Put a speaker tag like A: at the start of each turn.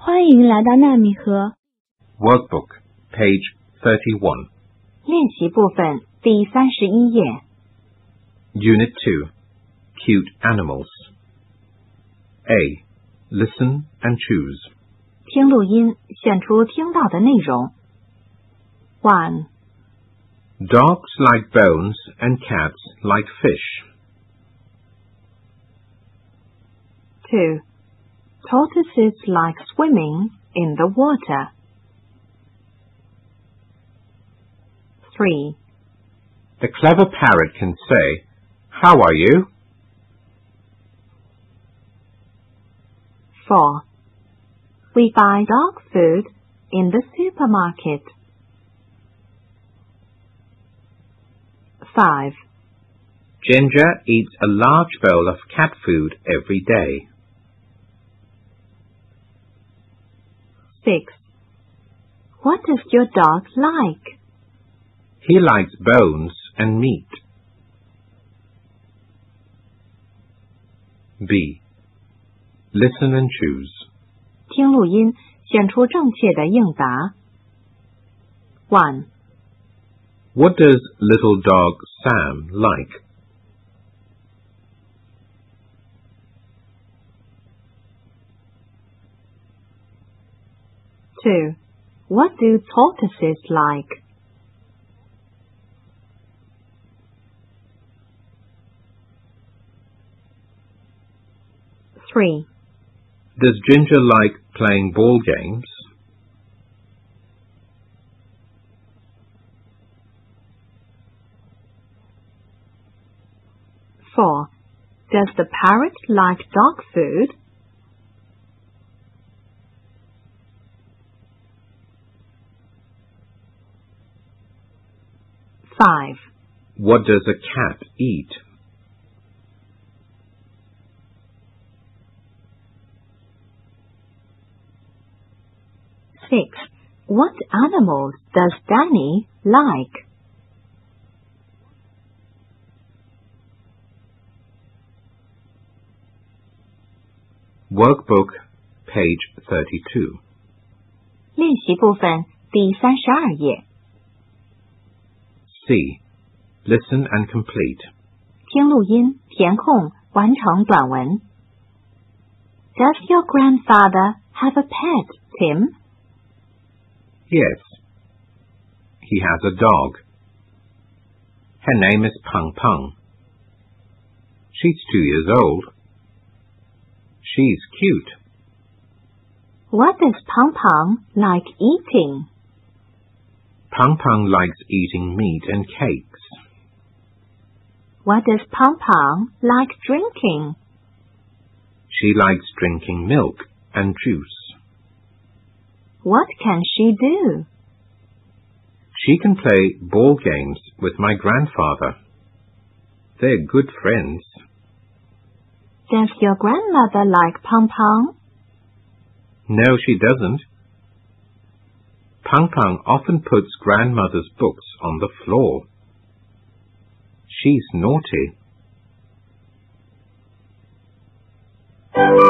A: 欢迎来到纳米河
B: Workbook, page 31.
C: 练习部分第31页
B: Unit 2, Cute Animals. A. Listen and choose.
C: 听录音，选出听到的内容。1.
B: Dogs like bones and cats like fish.
C: 2. Tortoises like swimming in the water. 3.
B: The clever parrot can say, "How are you?"
C: 4. We buy dog food in the supermarket. 5.
B: Ginger eats a large bowl of cat food every day.
C: 6. What does your dog like?
B: He likes bones and meat. B. Listen and choose.
C: 听录音，选出正确的应答。1.
B: What does little dog Sam like?
C: 2. What do tortoises like? 3.
B: Does Ginger like playing ball games?
C: 4. Does the parrot like dog food? 5.
B: What does a cat eat?
C: 6. What animals does Danny like?
B: Workbook, page 32.
C: 练习部分第32页
B: C. Listen and complete.
C: 听录音，填空，完成短文。Does your grandfather have a pet, Tim?
B: Yes. He has a dog. Her name is Pung Pung. She's 2 years old. She's cute.
C: What does Pong Pong like eating?
B: Pung Pung likes eating meat and cakes.
C: What does Pong Pong like drinking?
B: She likes drinking milk and juice.
C: What can she do?
B: She can play ball games with my grandfather. They're good friends.
C: Does your grandmother like Pong Pong?
B: No, she doesn't. Pung Pung often puts grandmother's books on the floor. She's naughty.